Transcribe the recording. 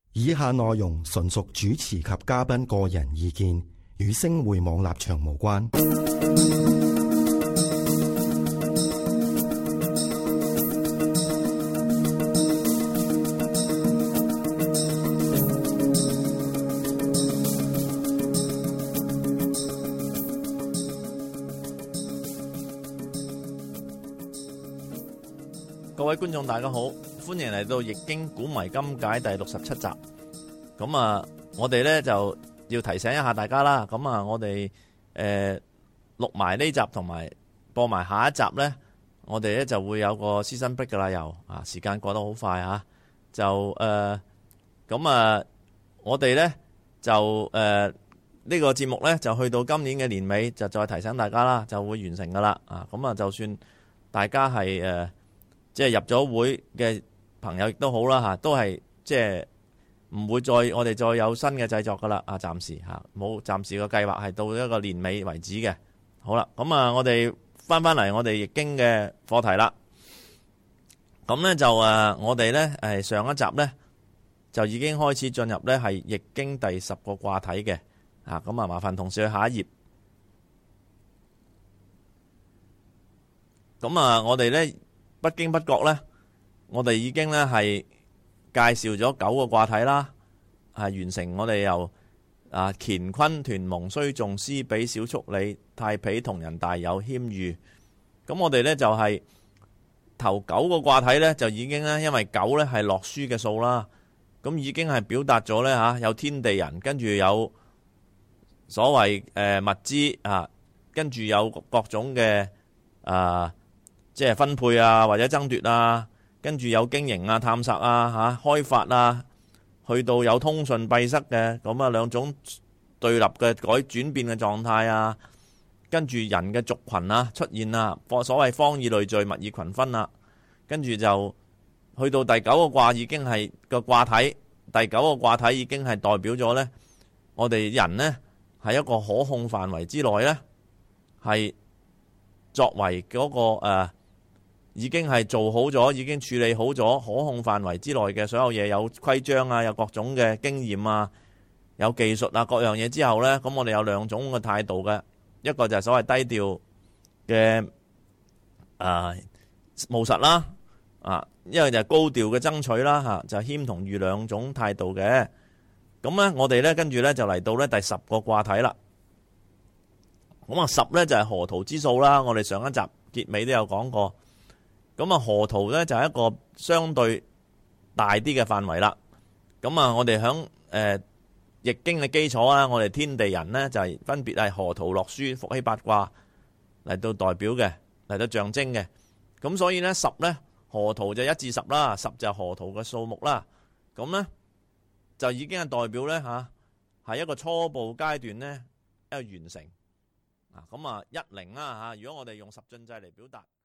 以下內容純屬主持及嘉賓個人意見，與星匯網立場無關。 各位觀眾大家好，歡迎嚟到《易經古謎今解》第67集。咁啊，我哋咧就要提醒一下大家啦。咁啊，我哋錄埋呢集同埋播埋下一集咧，我哋咧就會有個 season break 噶啦。又啊，時間過得好快啊。就咁啊，我哋咧就呢個節目咧就去到今年嘅年尾，就再提醒大家啦，就會完成噶啦。啊，咁啊，就算大家係即係入咗會嘅朋友亦都好啦嚇，都係即係唔會我哋再有新嘅製作噶啦啊！暫時嚇冇，暫時個計劃係到一個年尾為止嘅。好啦，咁啊，我哋翻嚟我哋易經嘅課題啦。咁咧就我哋咧上一集咧就已經開始進入咧係易經第10個卦體嘅啊。咁啊，麻煩同事去下一頁。咁啊，我哋咧不經不覺咧，我哋已經咧係介紹咗9個卦體啦，係完成我哋由乾坤屯蒙須訟司比小畜理太否同人大有謙豫。咁我哋咧就係頭9個卦體咧就已經咧，因為9咧係洛書嘅數啦，咁已經係表達咗咧有天地人，跟住有所謂物資啊，跟住有各種嘅即係分配啊，或者爭奪啊，跟住有經營啊、探索啊、開發啊，去到有通訊閉塞嘅咁啊，兩種對立嘅轉變嘅狀態啊，跟住人嘅族群啊出現啊，所謂方以類聚，物以群分啊，跟住就去到第9個卦已經係個卦體，第9個卦體已經係代表咗呢，我哋人呢係一個可控範圍之內呢，係作為嗰個已經係做好咗，已經處理好咗可控範圍之內嘅所有嘢，有規章啊，有各種嘅經驗啊，有技術啊，各樣嘢之後呢，咁我哋有兩種嘅態度嘅，一個就係所謂低調嘅務實啦，一個就係高調嘅爭取啦，嚇就係謙同豫兩種態度嘅。咁呢，我哋呢跟住呢就嚟到呢第10個卦體啦。咁啊10呢就係河圖之數啦，我哋上一集結尾都有講過。咁啊，河圖咧就係一個相對大啲嘅範圍啦。咁啊，我哋響易經嘅基礎啦，我哋天地人呢就係分別係河圖洛書伏羲八卦嚟到代表嘅，嚟到象徵嘅。咁所以呢10呢河圖就1至10啦，10就係河圖嘅數目啦。咁呢就已經係代表呢係一個初步階段呢一個完成。咁啊10啦，如果我哋用十進制嚟表達。